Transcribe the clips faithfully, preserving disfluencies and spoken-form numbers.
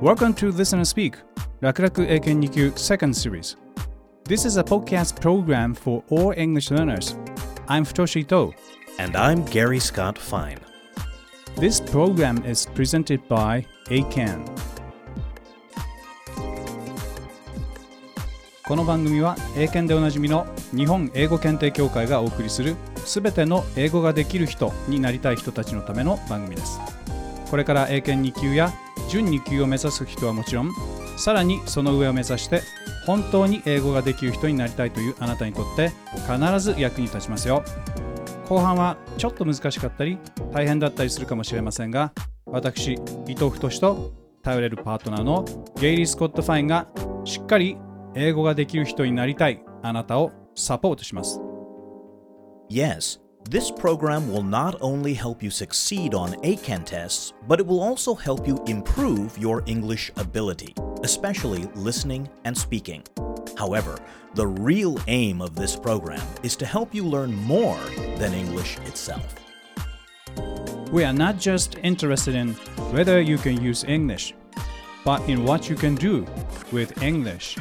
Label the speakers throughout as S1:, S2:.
S1: Welcome to Listen and Speak 楽々英検に級 Second Series. This is a podcast program for all English learners. I'm Futoshi Ito.
S2: And I'm Gary Scott Fine.
S1: This program is presented byエーキャン. この番組は英検でおなじみの日本英語検定協会がお送りするすべての英語ができる人になりたい人たちのための番組です。これから英検に級や準に級を目指す人はもちろん、さらにその上を目指して本当に英語ができる人になりたいというあなたにとって必ず役に立ちますよ。後半はちょっと難しかったり大変だったりするかもしれませんが、私伊藤太と頼れるパートナーのゲイリー・スコット・ファインがしっかり英語ができる人になりたいあなたをサポートします。
S2: Yes, this program will not only help you succeed on A C A N tests, but it will also help you improve your English ability, especially listening and speaking. However, the real aim of this program is to help you learn more than English itself.
S1: We are not just interested in whether you can use English, but in what you can do with English.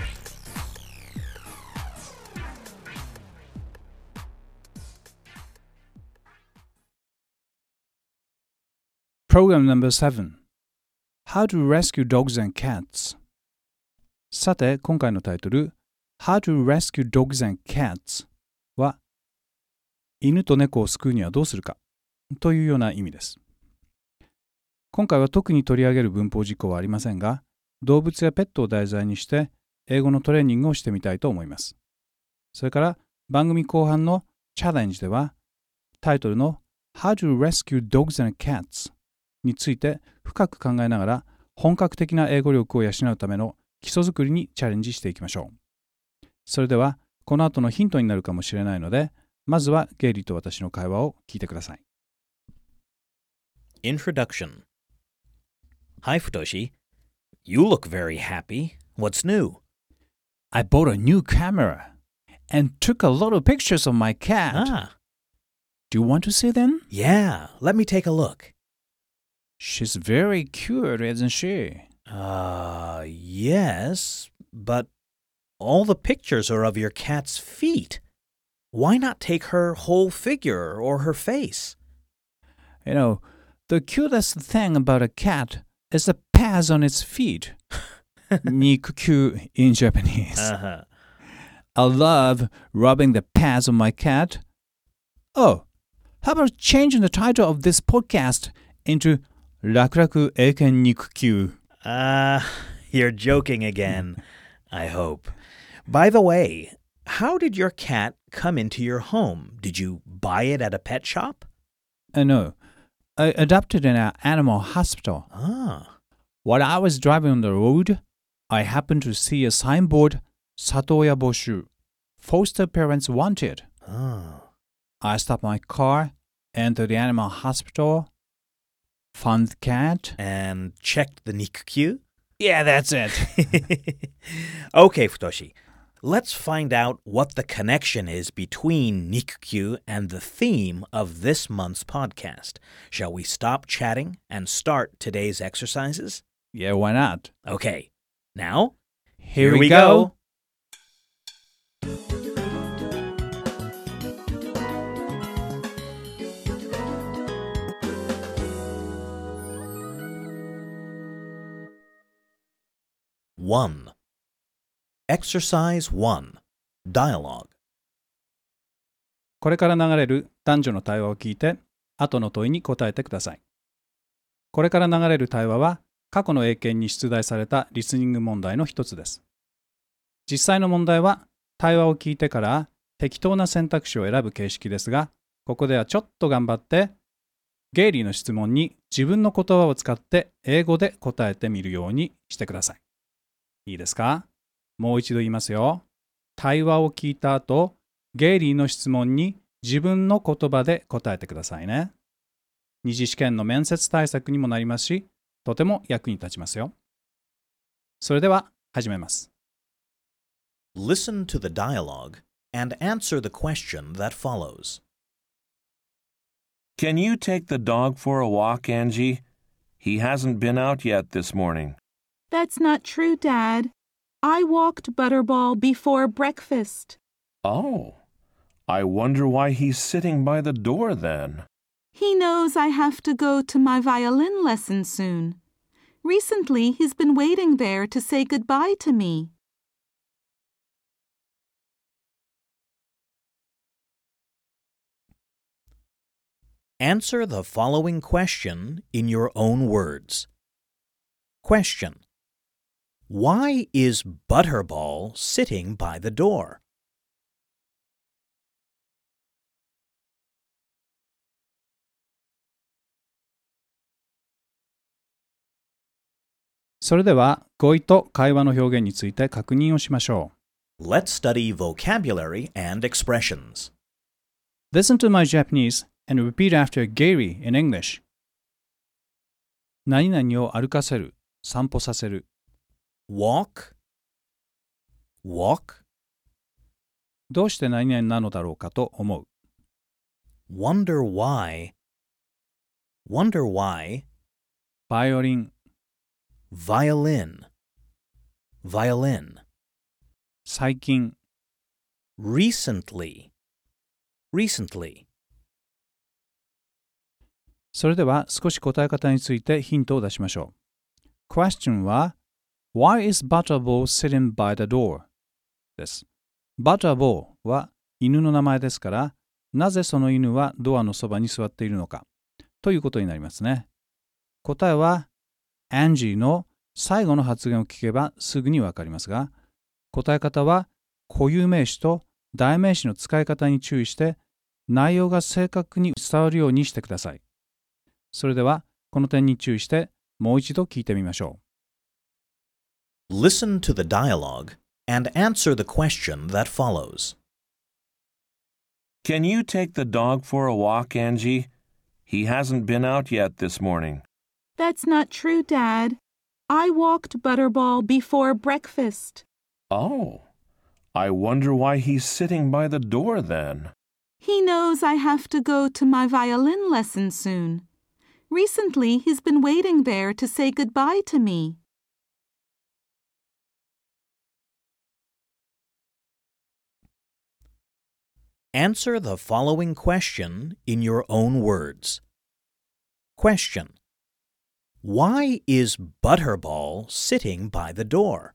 S1: Program number seven. How to rescue dogs and cats. さて、今回のタイトル How to rescue dogs and cats は犬と猫を救うにはどうするかというような意味です。今回は特に取り上げる文法事項はありませんが、動物やペットを題材にして英語のトレーニングをしてみたいと思います。それから番組後半のチャレンジではタイトルの How to rescue dogs and cats について深く考えながら本格的な英語力を養うための基礎作りにチャレンジしていきましょう。それではこの後のヒントになるかもしれないので、まずはゲイリーと私の会話を聞いてください。
S2: Introduction. Hi, Futoshi. You look very happy. What's new?
S1: I bought a new camera and took a lot of pictures of my cat.
S2: Ah.
S1: Do you want to see them?
S2: Yeah, let me take a look.
S1: She's very cute, isn't she?
S2: Uh, yes, but all the pictures are of your cat's feet. Why not take her whole figure or her face?
S1: You know, the cutest thing about a cat is the pads on its feet. Nikku in Japanese.
S2: Uh-huh.
S1: I love rubbing the pads on my cat. Oh, how about changing the title of this podcast into 楽々英検肉球?
S2: Ah, uh, you're joking again. I hope. By the way, how did your cat come into your home? Did you buy it at a pet shop?
S1: Uh, no, I adopted it in an animal hospital.
S2: Ah.
S1: While I was driving on the road, I happened to see a signboard, 里親募集, foster parents wanted.
S2: Ah.
S1: I stopped my car, entered the animal hospital, found the cat.
S2: And checked the nikku?
S1: Yeah, that's it.
S2: Okay, Futoshi. Let's find out what the connection is between nikku and the theme of this month's podcast. Shall we stop chatting and start today's exercises?
S1: Yeah, why not?
S2: Okay. Now,
S1: here,
S2: here
S1: we
S2: we
S1: go.
S2: go. One. Exercise one. Dialogue.
S1: これから流れる男女の対話を聞いて、後の問いに答えてください。これから流れる対話は、過去の英検に出題されたリスニング問題の一つです。実際の問題は、対話を聞いてから適当な選択肢を選ぶ形式ですが、ここではちょっと頑張って、ゲイリーの質問に自分の言葉を使って英語で答えてみるようにしてください。いいですか？もう一度言いますよ。対話を聞いた後、ゲイリーの質問に自分の言葉で答えてくださいね。二次試験の面接対策にもなりますし、とても役に立ちますよ。それでは始めます。
S2: Listen to the dialogue and answer the question that follows.
S3: Can you take the dog for a walk, Angie? He hasn't been out yet this morning. That's not true, Dad. I walked Butterball before breakfast.
S4: Oh, I wonder why he's sitting by the door then.
S3: He knows I have to go to my violin lesson soon. Recently, he's been waiting there to say goodbye to me.
S2: Answer the following question in your own words. Question: Why is Butterball sitting by the door?
S1: それでは語彙と会話の表現について確認をしましょ
S2: Let's study vocabulary and expressions.
S1: う。Listen to my Japanese and repeat after Gary in English. 何々を歩かせる、散歩させる。
S2: Walk, walk,
S1: どうして何々なのだろうかと思う。
S2: wonder why, wonder why,
S1: バイオリン、
S2: violin, violin,
S1: 最近、
S2: recently, recently.
S1: それでは少し答え方についてヒントを出しましょう。Question は Why is Butterball sitting by the door? です。Butterball は犬の名前ですから、なぜその犬はドアのそばに座っているのかということになりますね。答えは Angie の最後の発言を聞けばすぐにわかりますが、答え方は固有名詞と代名詞の使い方に注意して内容が正確に伝わるようにしてください。それではこの点に注意してもう一度聞いてみましょ
S2: う。Listen to the dialogue and answer the question that follows.
S4: Can you take the dog for a walk, Angie? He hasn't been out yet this morning.
S3: That's not true, Dad. I walked Butterball before breakfast.
S4: Oh, I wonder why he's sitting by the door then.
S3: He knows I have to go to my violin lesson soon. Recently, he's been waiting there to say goodbye to me.
S2: Answer the following question in your own words. Question: Why is Butterball sitting by the door?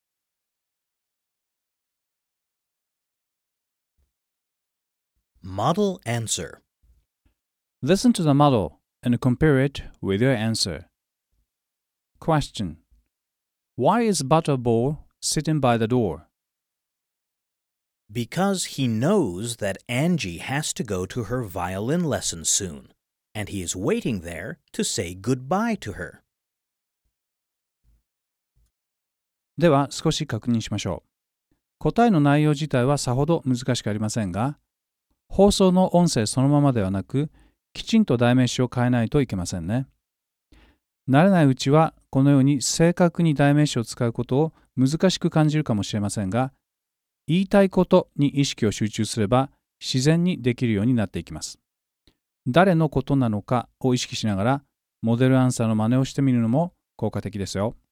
S2: Model answer.
S1: Listen to the model and compare it with your answer. Question: Why is Butterball sitting by the door?
S2: Because he knows that Angie has to go to her violin lesson soon, and he is waiting there to say goodbye to her.
S1: では少し確認しましょう。答えの内容自体はさほど難しくありませんが、放送の音声そのままではなく、きちんと代名詞を変えないといけませんね。慣れないうちはこのように正確に代名詞を使うことを難しく感じるかもしれませんが、言いたいことに意識を集中すれば自然にできるようになっていきます。誰のことなのかを意識しながらモデルアンサーの真似をしてみるのも効果的ですよ。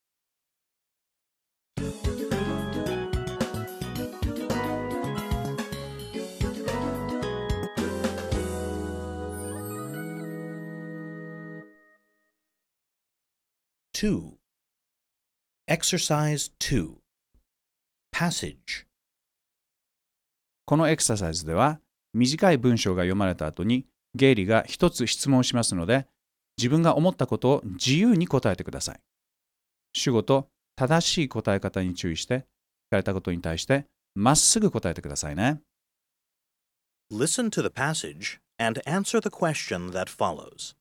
S2: two. Exercise two. Passage.
S1: このエクササイズでは短い文章が読まれた後にゲイリーが一つ質問しますので、自分が思ったことを自由に答えてください。主語と正しい答え方に注意して、聞かれたことに対してまっすぐ答えてくださいね。
S2: Listen to the passage and answer the question that follows.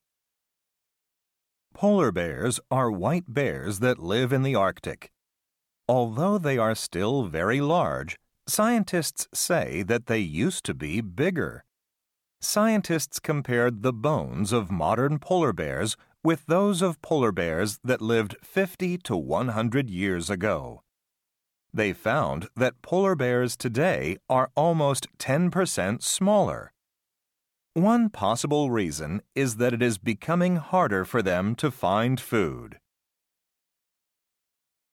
S5: Polar bears are white bears that live in the Arctic. Although they are still very large, scientists say that they used to be bigger. Scientists compared the bones of modern polar bears with those of polar bears that lived fifty to one hundred years ago. They found that polar bears today are almost ten percent smaller. One possible reason is that it is becoming harder for them to find food.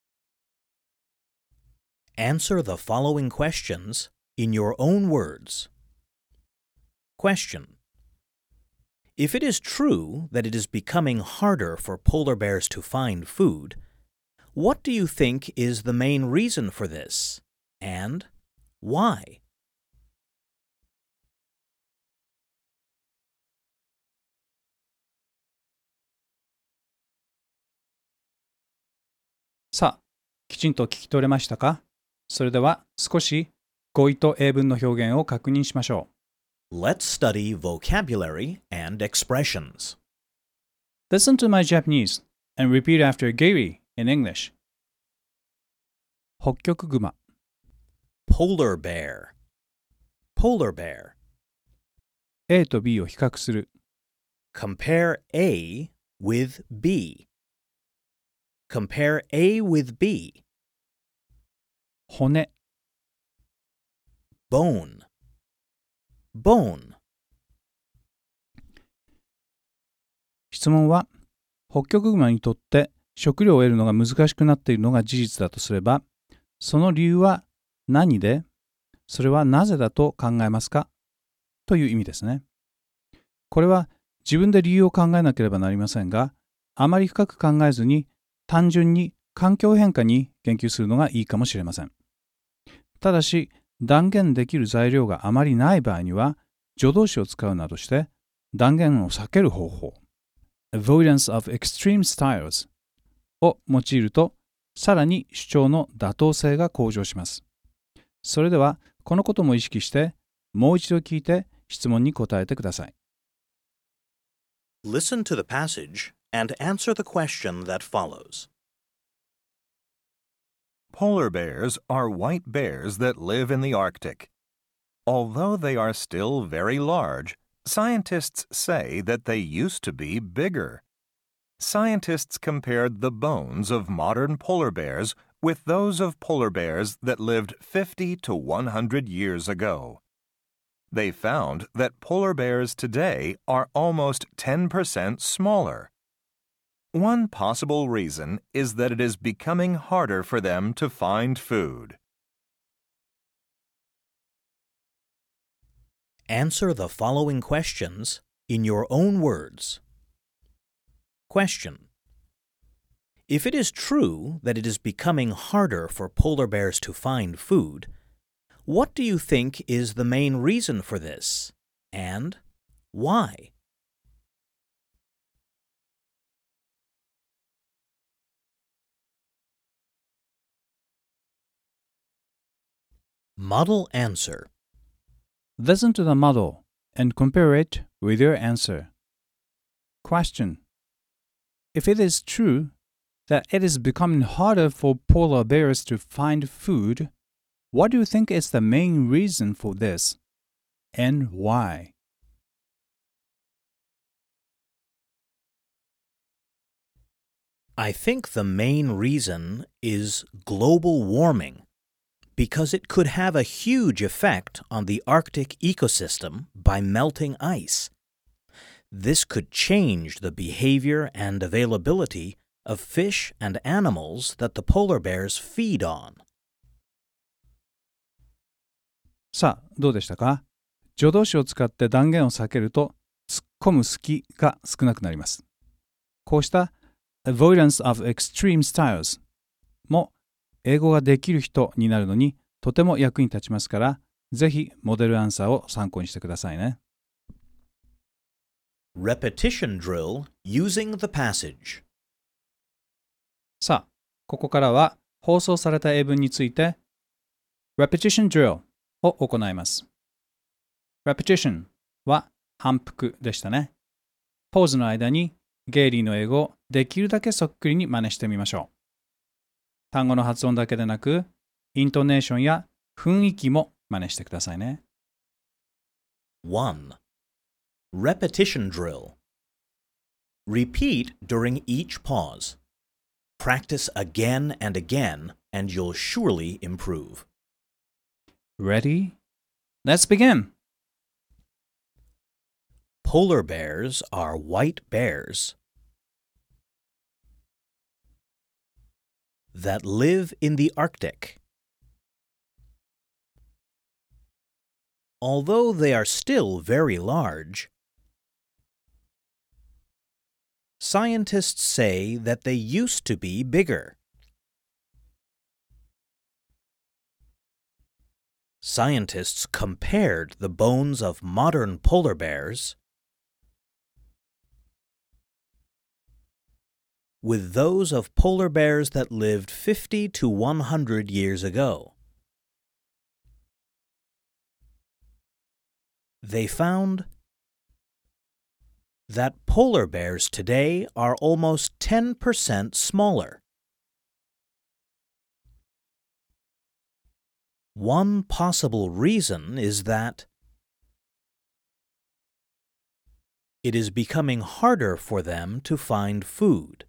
S2: Answer the following questions in your own words. Question. If it is true that it is becoming harder for polar bears to find food, what do you think is the main reason for this, and why?
S1: さあ、きちんと聞き取れましたか？それでは少し語彙と英文の表現を確認しましょう。
S2: Let's study vocabulary and expressions.
S1: Listen to my Japanese and repeat after Gary in English. 北極熊
S2: Polar bear. Polar bear.
S1: A と B を比較する
S2: Compare A with B. Compare A with B.
S1: 骨
S2: Bone. Bone.
S1: 質問は北極熊にとって食料を得るのが難しくなっているのが事実だとすれば、その理由は何で、それはなぜだと考えますかという意味ですね。これは自分で理由を考えなければなりませんが、あまり深く考えずに単純に環境変化に言及するのがいいかもしれません。ただし、断言できる材料があまりない場合には、助動詞を使うなどして断言を避ける方法、avoidance of extreme styles を用いると、さらに主張の妥当性が向上します。それでは、このことも意識して、もう一度聞いて質問に答えてください。
S2: Listen to the passage and answer the question that follows.
S5: Polar bears are white bears that live in the Arctic. Although they are still very large, scientists say that they used to be bigger. Scientists compared the bones of modern polar bears with those of polar bears that lived fifty to one hundred years ago. They found that polar bears today are almost ten percent smaller. One possible reason is that it is becoming harder for them to find food.
S2: Answer the following questions in your own words. Question. If it is true that it is becoming harder for polar bears to find food, what do you think is the main reason for this, and why? Model answer.
S1: Listen to the model and compare it with your answer. Question. If it is true that it is becoming harder for polar bears to find food, what do you think is the main reason for this, and why?
S2: I think the main reason is global warming, because it could have a huge effect on the Arctic ecosystem by melting ice. This could change the behavior and availability of fish and animals that the polar bears feed on.
S1: さあ、どうでしたか？助動詞を使って断言を避けると、突っ込む隙が少なくなります。こうした avoidance of extreme styles も英語ができる人になるのにとても役に立ちますから、ぜひモデルアンサーを参考にしてくださいね。
S2: Repetition drill using the passage.
S1: さあ、ここからは放送された英文について Repetition drill を行います。Repetition は反復でしたね。ポーズの間にゲイリーの英語をできるだけそっくりに真似してみましょう。単語の発音だけでなく、イントネーションや雰囲気も真似してくださいね。
S2: one. Repetition drill. Repeat during each pause. Practice again and again, and you'll surely improve.
S1: Ready? Let's begin!
S2: Polar bears are white bears that live in the Arctic. Although they are still very large, scientists say that they used to be bigger. Scientists compared the bones of modern polar bears with those of polar bears that lived fifty to one hundred years ago. They found that polar bears today are almost ten percent smaller. One possible reason is that it is becoming harder for them to find food.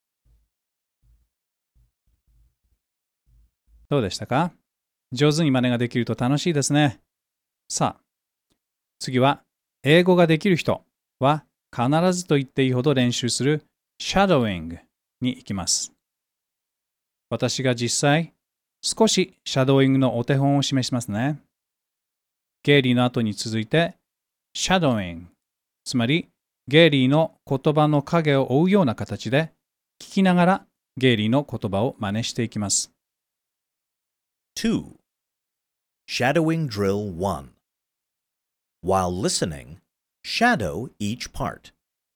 S1: どうでしたか？上手に真似ができると楽しいですね。さあ、次は英語ができる人は必ずと言っていいほど練習する shadowing に行きます。私が実際少しシャドーイングのお手本を示しますね。ゲイリーの後に続いてシャドーイング、つまりゲイリーの言葉の影を追うような形で聞きながらゲイリーの言葉を真似していきます。
S2: two. Shadowing Drill one. While listening, shadow each part.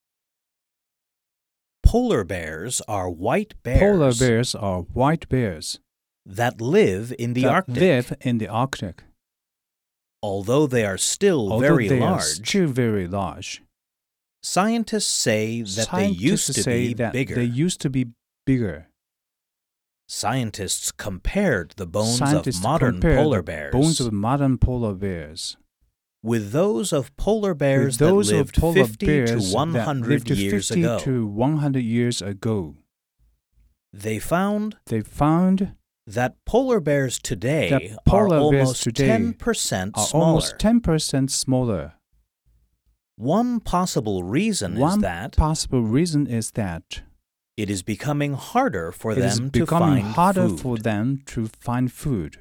S2: Polar bears are white bears,
S1: Polar bears are white bears
S2: that live in the
S1: that
S2: Arctic.
S1: live in the Arctic.
S2: Although they are still
S1: Although
S2: very
S1: they are
S2: large,
S1: still very large,
S2: scientists say that they
S1: scientists
S2: used to
S1: say
S2: be
S1: that
S2: bigger.
S1: they used to be bigger.
S2: Scientists compared the bones
S1: Scientists
S2: of modern
S1: compared
S2: polar
S1: the
S2: bears
S1: bones of modern polar bears
S2: with those of polar bears
S1: with those
S2: that
S1: of
S2: lived
S1: polar
S2: fifty
S1: bears
S2: to one
S1: that
S2: hundred
S1: lived
S2: years
S1: fifty
S2: ago.
S1: to one hundred years ago.
S2: They found
S1: They found
S2: that polar bears today
S1: that polar
S2: are
S1: bears
S2: almost
S1: today
S2: ten percent
S1: are
S2: smaller.
S1: almost ten percent smaller.
S2: One possible reason
S1: One
S2: is that
S1: possible reason is that
S2: it is becoming harder for
S1: it is
S2: them to
S1: becoming
S2: find
S1: harder
S2: food.
S1: for them to find food.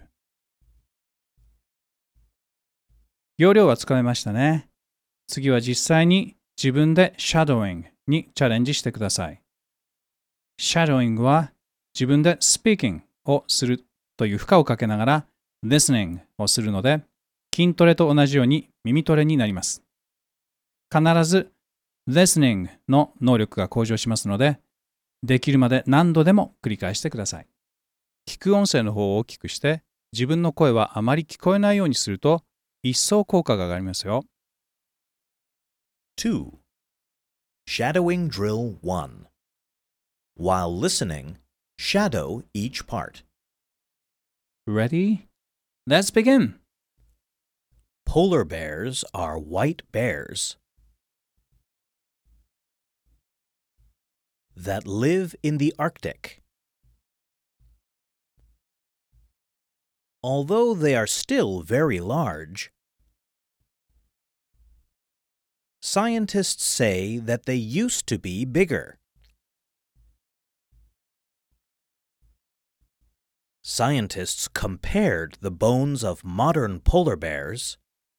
S1: 要領はつかめましたね。次は実際に自分で shadowing にチャレンジしてください。shadowing は自分で speaking をするという負荷をかけながら listening をするので、筋トレと同じように耳トレになります。必ず listening の能力が向上しますので、できるまで何度でも繰り返してください。聞く音声の方を大きくして、自分の声はあまり聞こえないようにすると、一層効果が上がりますよ。
S2: two. Shadowing Drill one. While listening, shadow each part.
S1: Ready? Let's begin!
S2: Polar bears are white bears that live in the Arctic. Although they are still very large, scientists say that they used to be bigger. Scientists compared the bones of modern polar bears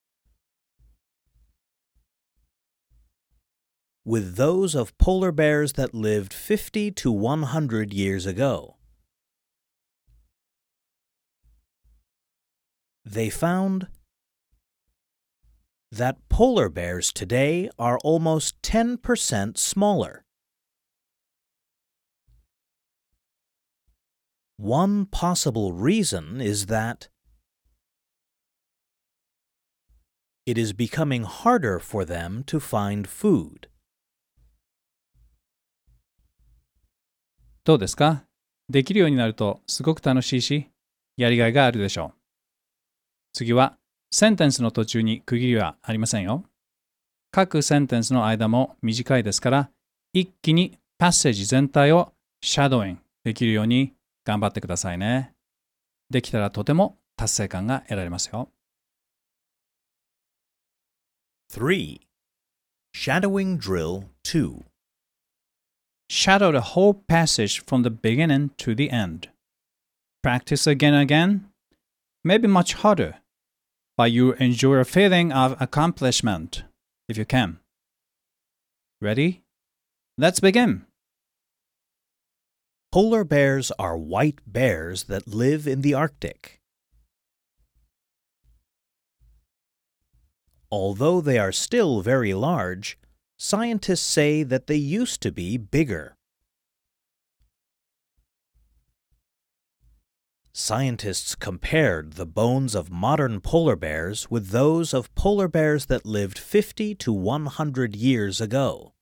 S2: with those of polar bears that lived fifty to one hundred years ago. They found that polar bears today are almost ten percent smaller. One possible reason is that it is becoming harder for them to find food.
S1: どうですか？できるようになるとすごく楽しいし、やりがいがあるでしょう。次は、センテンスの途中に区切りはありませんよ。各センテンスの間も短いですから、一気にパッセージ全体をシャドーイングできるように頑張ってくださいね。できたらとても達成感が得られますよ。
S2: three. Shadowing Drill two.
S1: Shadow the whole passage from the beginning to the end. Practice again and again. Maybe much harder. but you enjoy a feeling of accomplishment, if you can. Ready? Let's begin.
S2: Polar bears are white bears that live in the Arctic. Although they are still very large, scientists say that they used to be bigger. Scientists compared the bones of modern polar bears with those of polar bears that lived fifty to one hundred years ago.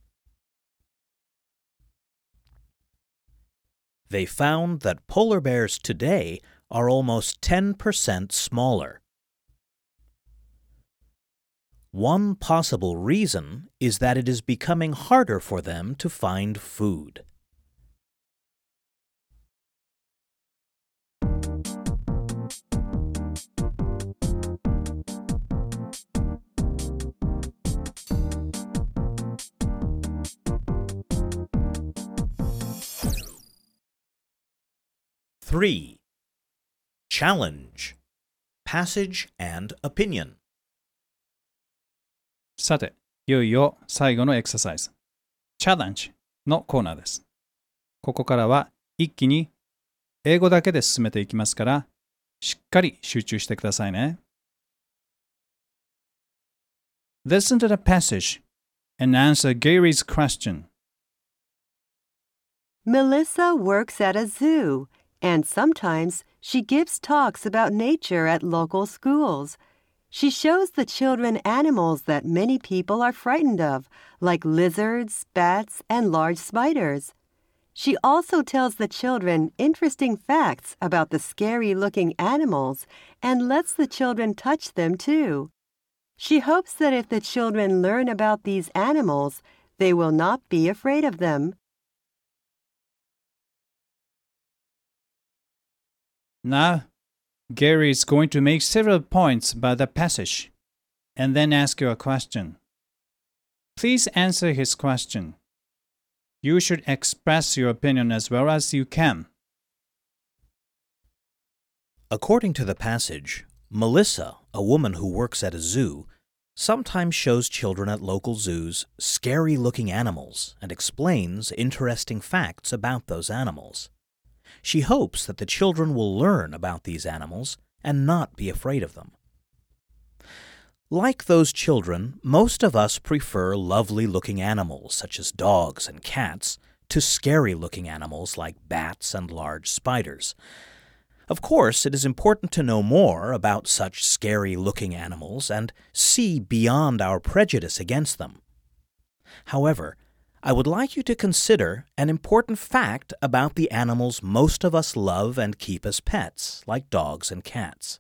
S2: They found that polar bears today are almost ten percent smaller. One possible reason is that it is becoming harder for them to find food. Three. Challenge. Passage and opinion.
S1: さて、いよいよ最後のエクササイズ、チャレンジのコーナーです。ここからは一気に英語だけで進めていきますから、しっかり集中してくださいね。Listen to the passage and answer Gary's question.
S6: Melissa works at a zoo, and sometimes she gives talks about nature at local schools. She shows the children animals that many people are frightened of, like lizards, bats, and large spiders. She also tells the children interesting facts about the scary-looking animals and lets the children touch them too. She hopes that if the children learn about these animals, they will not be afraid of them.
S1: Now, Gary is going to make several points about the passage and then ask you a question. Please answer his question. You should express your opinion as well as you can.
S2: According to the passage, Melissa, a woman who works at a zoo, sometimes shows children at local zoos scary-looking animals and explains interesting facts about those animals. She hopes that the children will learn about these animals and not be afraid of them. Like those children, most of us prefer lovely-looking animals such as dogs and cats to scary-looking animals like bats and large spiders. Of course, it is important to know more about such scary-looking animals and see beyond our prejudice against them. However, I would like you to consider an important fact about the animals most of us love and keep as pets, like dogs and cats.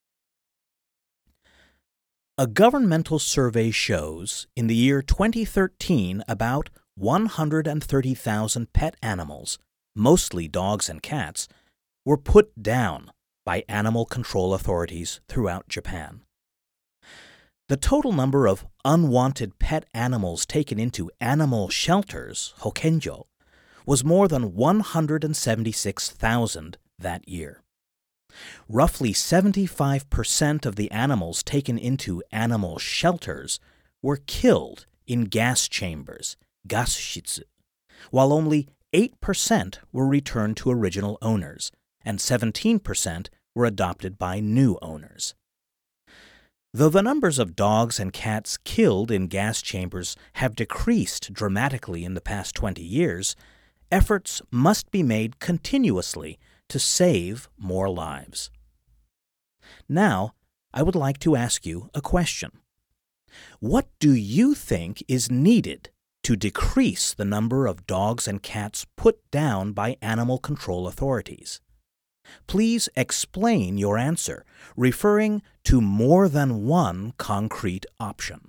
S2: A governmental survey shows in the year twenty thirteen about one hundred thirty thousand pet animals, mostly dogs and cats, were put down by animal control authorities throughout Japan. The total number of unwanted pet animals taken into animal shelters, hokenjo, was more than one hundred seventy-six thousand that year. Roughly seventy-five percent of the animals taken into animal shelters were killed in gas chambers, gasshitsu, while only eight percent were returned to original owners, and seventeen percent were adopted by new owners. Though the numbers of dogs and cats killed in gas chambers have decreased dramatically in the past twenty years, efforts must be made continuously to save more lives. Now, I would like to ask you a question. What do you think is needed to decrease the number of dogs and cats put down by animal control authorities? Please explain your answer, referring to more than one concrete option.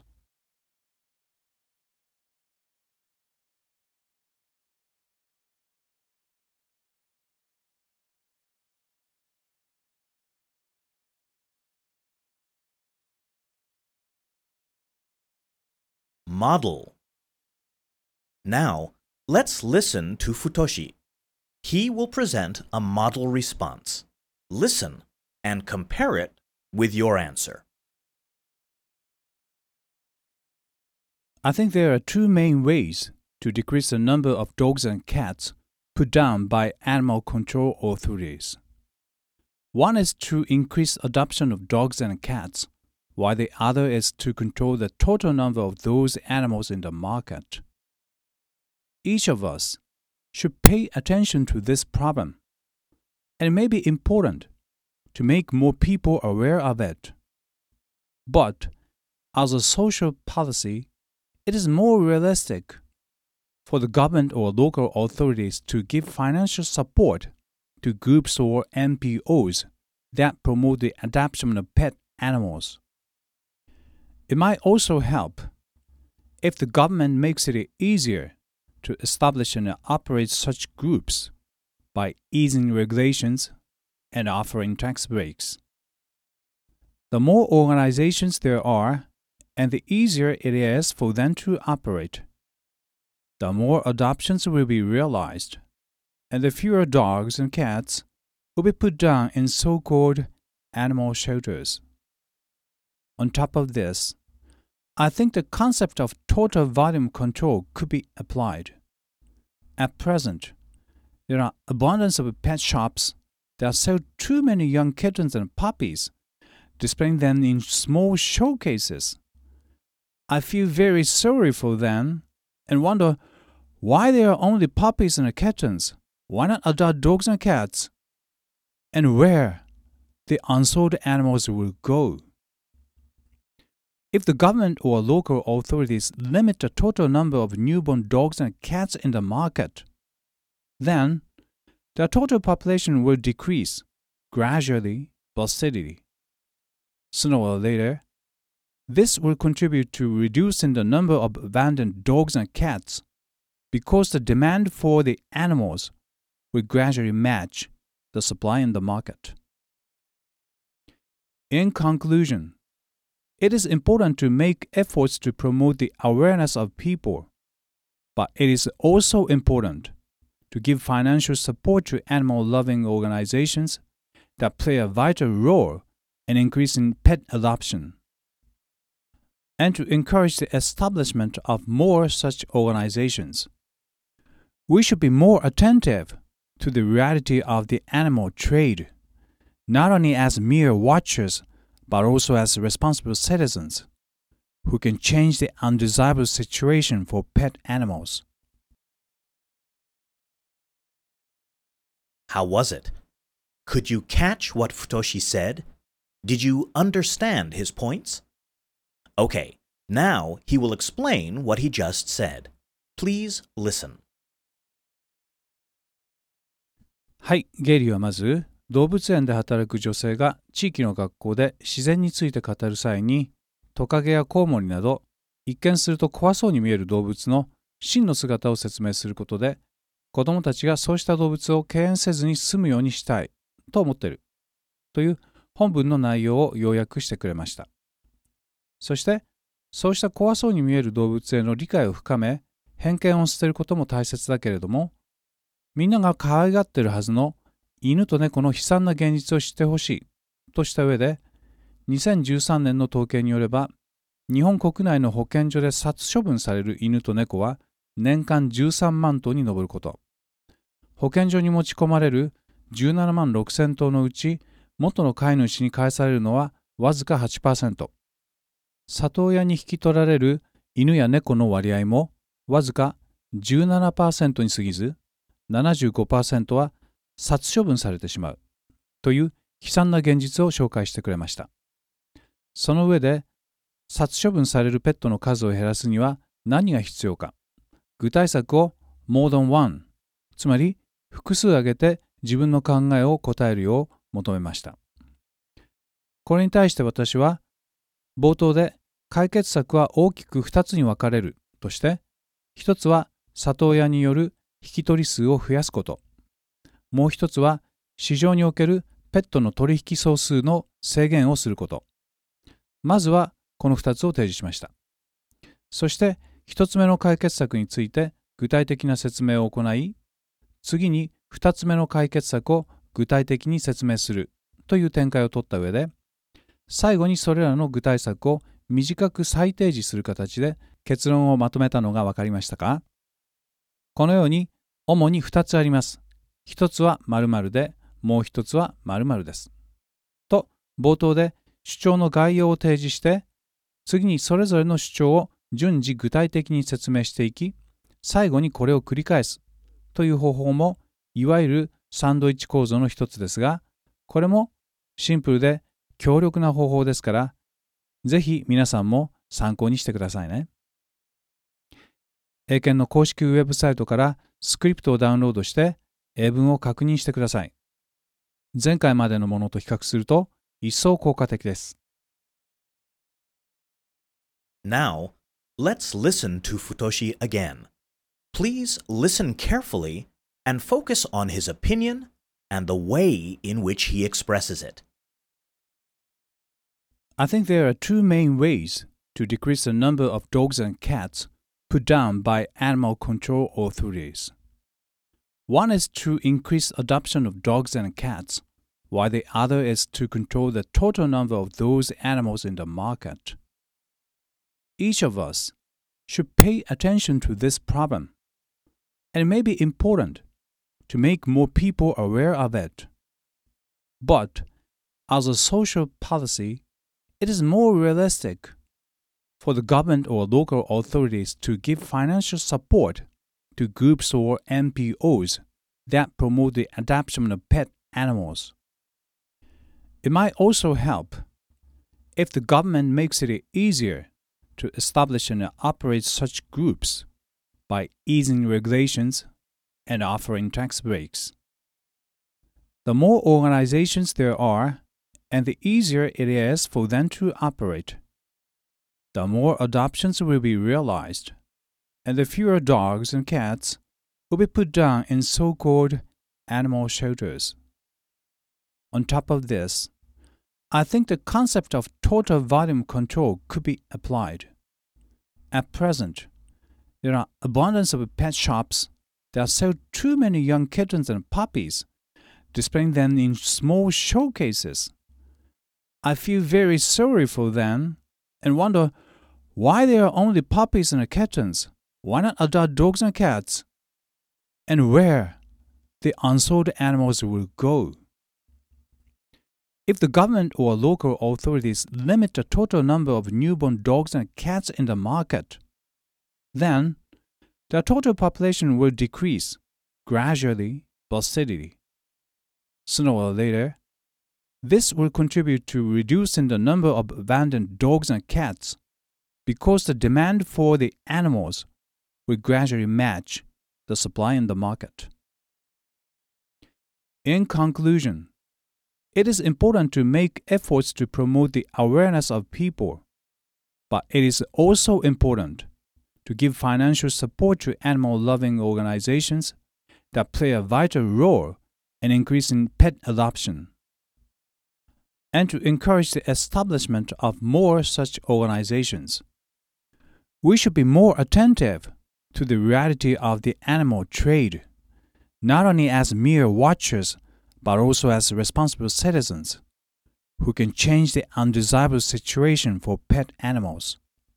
S2: Model. Now, let's listen to Futoshi. He will present a model response. Listen and compare it with your answer.
S1: I think there are two main ways to decrease the number of dogs and cats put down by animal control authorities. One is to increase adoption of dogs and cats, while the other is to control the total number of those animals in the market. Each of us should pay attention to this problem, and it may be important to make more people aware of it. But as a social policy, it is more realistic for the government or local authorities to give financial support to groups or N P Os that promote the adoption of pet animals. It might also help if the government makes it easier to establish and operate such groups by easing regulations and offering tax breaks. The more organizations there are, and the easier it is for them to operate, the more adoptions will be realized, and the fewer dogs and cats will be put down in so-called animal shelters. On top of this, I think the concept of total volume control could be applied. At present, there are abundance of pet shops that sell too many young kittens and puppies, displaying them in small showcases. I feel very sorry for them and wonder why there are only puppies and kittens. Why not adopt dogs and cats? And where the unsold animals will go. If the government or local authorities limit the total number of newborn dogs and cats in the market, then the total population will decrease gradually but steadily. Sooner or later, this will contribute to reducing the number of abandoned dogs and cats because the demand for the animals will gradually match the supply in the market. In conclusion, it is important to make efforts to promote the awareness of people, but it is also important to give financial support to animal-loving organizations that play a vital role in increasing pet adoption, and to encourage the establishment of more such organizations. We should be more attentive to the reality of the animal trade, not only as mere watchers, but also as responsible citizens who can change the undesirable situation for pet animals.
S2: How was it? Could you catch what Futoshi said? Did you understand his points? Okay, now he will explain what he just said. Please listen.
S1: はい、ゲイリーはまず、動物園で働く女性が地域の学校で自然について語る際に、トカゲやコウモリなど、一見すると怖そうに見える動物の真の姿を説明することで、子どもたちがそうした動物を敬遠せずに済むようにしたいと思っているという本文の内容を要約してくれました。そして、そうした怖そうに見える動物への理解を深め、偏見を捨てることも大切だけれども、みんなが可愛がっているはずの犬と猫の悲惨な現実を知ってほしいとした上で、にせんじゅうさんねんの統計によれば、日本国内の保健所で殺処分される犬と猫は年間じゅうさんまんとうに上ること。保健所に持ち込まれるじゅうななまんろくせんとうのうち、元の飼い主に返されるのはわずか はちパーセント。里親に引き取られる犬や猫の割合もわずか じゅうななパーセント に過ぎず、ななじゅうごパーセント は殺処分されてしまうという悲惨な現実を紹介してくれました。その上で、殺処分されるペットの数を減らすには何が必要か、具体策を more than one、つまり複数挙げて自分の考えを答えるよう求めました。これに対して私は、冒頭で解決策は大きくふたつに分かれるとして、ひとつは里親による引き取り数を増やすこと、もう一つは市場におけるペットの取引総数の制限をすること。まずはこのふたつを提示しました。そしてひとつめの解決策について具体的な説明を行い、次にふたつめの解決策を具体的に説明するという展開を取った上で、 最後にそれらの具体策を短く再提示する形で結論をまとめたのが分かりましたか？このように主にふたつあります。ひとつは〇〇で、もうひとつは〇〇です。と、冒頭で主張の概要を提示して、次にそれぞれの主張を順次具体的に説明していき、最後にこれを繰り返すという方法も、いわゆるサンドイッチ構造の一つですが、これもシンプルで強力な方法ですから、ぜひ皆さんも参考にしてくださいね。英検の公式ウェブサイトからスクリプトをダウンロードして英文を確認してください。前回までのものと比較すると一層効果的です。
S2: Now, let's listen to Futoshi again. Please listen carefully and focus on his opinion and the way in which he expresses it.
S1: I think there are two main ways to decrease the number of dogs and cats put down by animal control authorities. One is to increase adoption of dogs and cats, while the other is to control the total number of those animals in the market. Each of us should pay attention to this problem, and it may be important to make more people aware of it. But as a social policy, it is more realistic for the government or local authorities to give financial support to groups or N P Os that promote the adoption of pet animals. It might also help if the government makes it easier to establish and operate such groups by easing regulations and offering tax breaks. The more organizations there are, and the easier it is for them to operate, the more adoptions will be realized, and the fewer dogs and cats will be put down in so-called animal shelters. On top of this, I think the concept of total volume control could be applied. At present, there are abundance of pet shops that sell too many young kittens and puppies, displaying them in small showcases. I feel very sorry for them and wonder why there are only puppies and kittens. Why not adopt dogs and cats? And where the unsold animals will go. If the government or local authorities limit the total number of newborn dogs and cats in the market, then the total population will decrease gradually but steadily. Sooner or later, this will contribute to reducing the number of abandoned dogs and cats because the demand for the animals will gradually match the supply in the market. In conclusion, it is important to make efforts to promote the awareness of people, but it is also important to give financial support to animal-loving organizations that play a vital role in increasing pet adoption, and to encourage the establishment of more such organizations. We should be more attentive to the reality of the animal trade, not only as mere watchers, but also as responsible citizens who can change the undesirable situation for pet animals.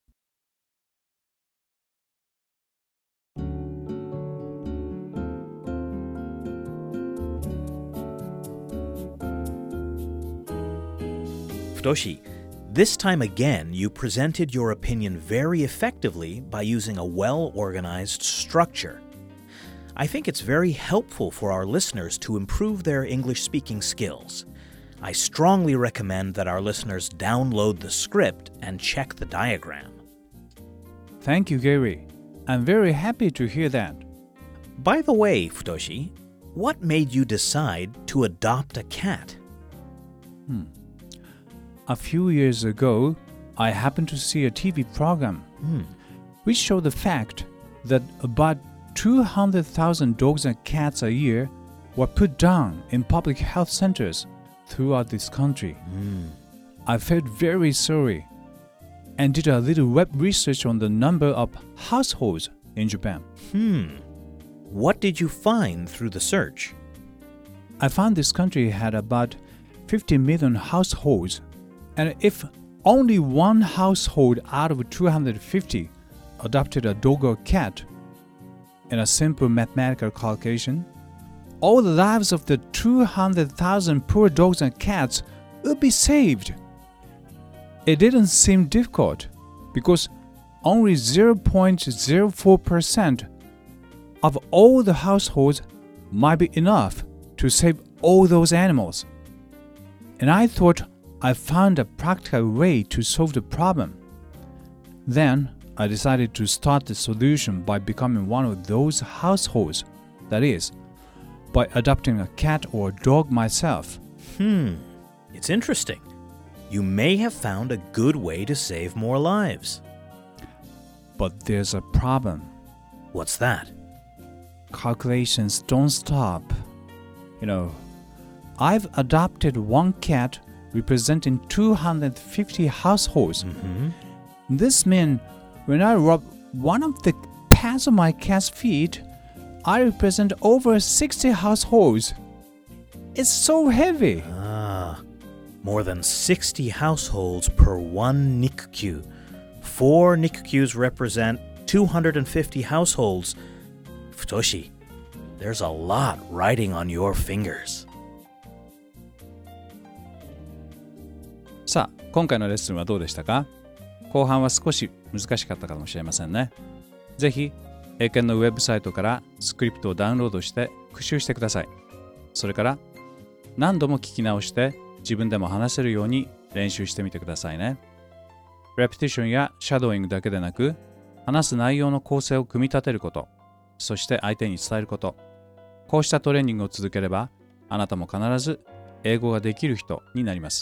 S2: Futoshi, this time again you presented your opinion very effectively by using a well-organized structure. I think it's very helpful for our listeners to improve their English-speaking skills. I strongly recommend that our listeners download the script and check the diagram.
S1: Thank you, Gary. I'm very happy to hear that.
S2: By the way, Futoshi, what made you decide to adopt a cat?
S1: Hmm. A few years ago, I happened to see a T V program
S2: Hmm.
S1: which showed the fact that about two hundred thousand dogs and cats a year were put down in public health centers throughout this country.
S2: Mm.
S1: I felt very sorry and did a little web research on the number of households in Japan.
S2: Hmm. What did you find through the search?
S1: I found this country had about fifty million households And if only one household out of two hundred fifty adopted a dog or cat, in a simple mathematical calculation, all the lives of the two hundred thousand poor dogs and cats would be saved. It didn't seem difficult because only zero point zero four percent of all the households might be enough to save all those animals. And I thought I found a practical way to solve the problem. Then I decided to start the solution by becoming one of those households, that is, by adopting a cat or dog myself.
S2: Hmm, it's interesting. You may have found a good way to save more lives.
S1: But there's a problem.
S2: What's that?
S1: Calculations don't stop. You know, I've adopted one cat representing two hundred fifty households.
S2: Mm-hmm.
S1: This means when I rub one of the pads of my cat's feet, I represent over sixty households. It's so heavy.
S2: Ah, more than sixty households per one N I C Q. Four N I C Qs represent two hundred fifty households. Futoshi, there's a lot riding on your fingers.
S1: さあ、今回のレッスンはどうでしたか？後半は少し難しかったかもしれませんね。ぜひ、英検のウェブサイトからスクリプトをダウンロードして復習してください。それから何度も聞き直して自分でも話せるように練習してみてくださいね。レペティションやシャドーイングだけでなく、話す内容の構成を組み立てること、そして相手に伝えること。こうしたトレーニングを続ければ、あなたも必ず英語ができる人になります。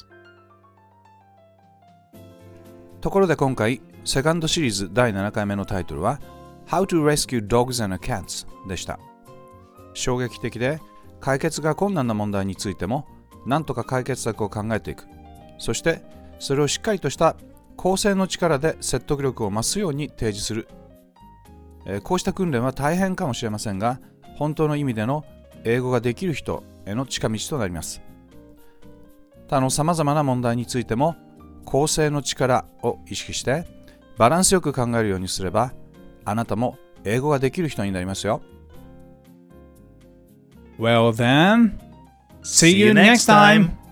S1: ところで今回、セカンドシリーズだいななかいめのタイトルは How to Rescue Dogs and Cats でした。衝撃的で解決が困難な問題についても、なんとか解決策を考えていく。そして、それをしっかりとした構成の力で説得力を増すように提示する。えー、こうした訓練は大変かもしれませんが、本当の意味での英語ができる人への近道となります。他の様々な問題についても、構成の力を意識してバランスよく考えるようにすれば、あなたも英語ができる人になりますよ。Well then, see you next time!